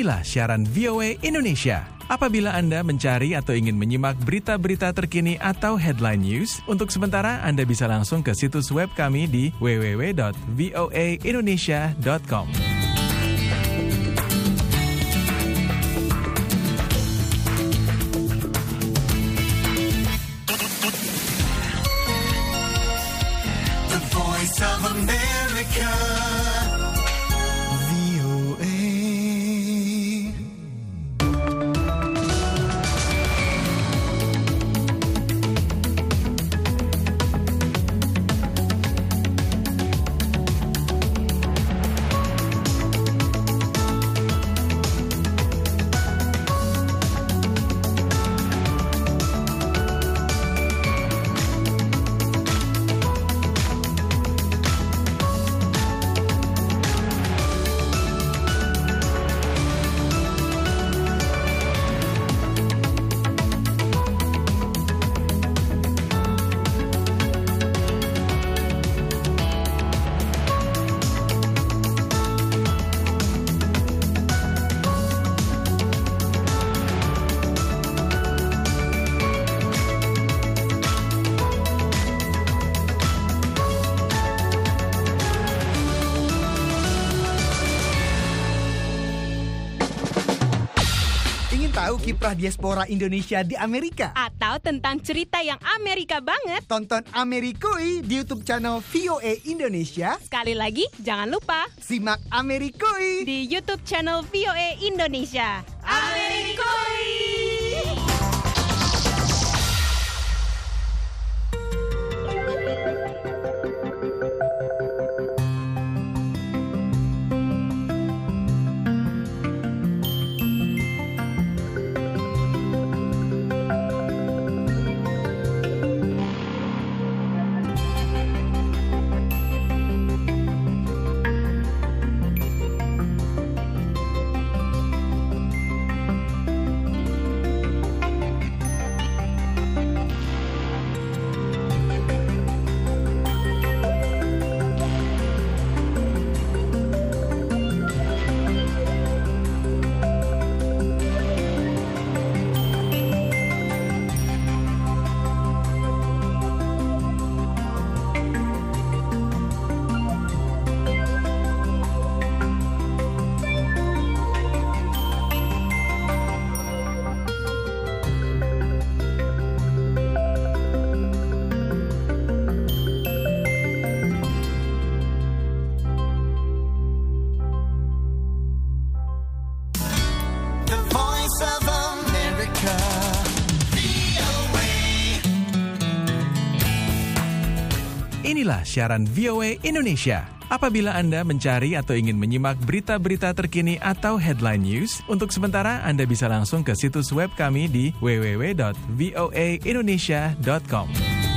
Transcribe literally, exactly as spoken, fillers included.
Inilah siaran V O A Indonesia. Apabila Anda mencari atau ingin menyimak berita-berita terkini atau headline news, untuk sementara Anda bisa langsung ke situs web kami di w w w dot voa indonesia dot com. The Voice of America. Tahu kiprah diaspora Indonesia di Amerika? Atau tentang cerita yang Amerika banget? Tonton Amerikui di YouTube channel V O A Indonesia. Sekali lagi, jangan lupa simak Amerikui di YouTube channel V O A Indonesia. Amerikui! Inilah siaran V O A Indonesia. Apabila Anda mencari atau ingin menyimak berita-berita terkini atau headline news, untuk sementara Anda bisa langsung ke situs web kami di w w w dot voa indonesia dot com.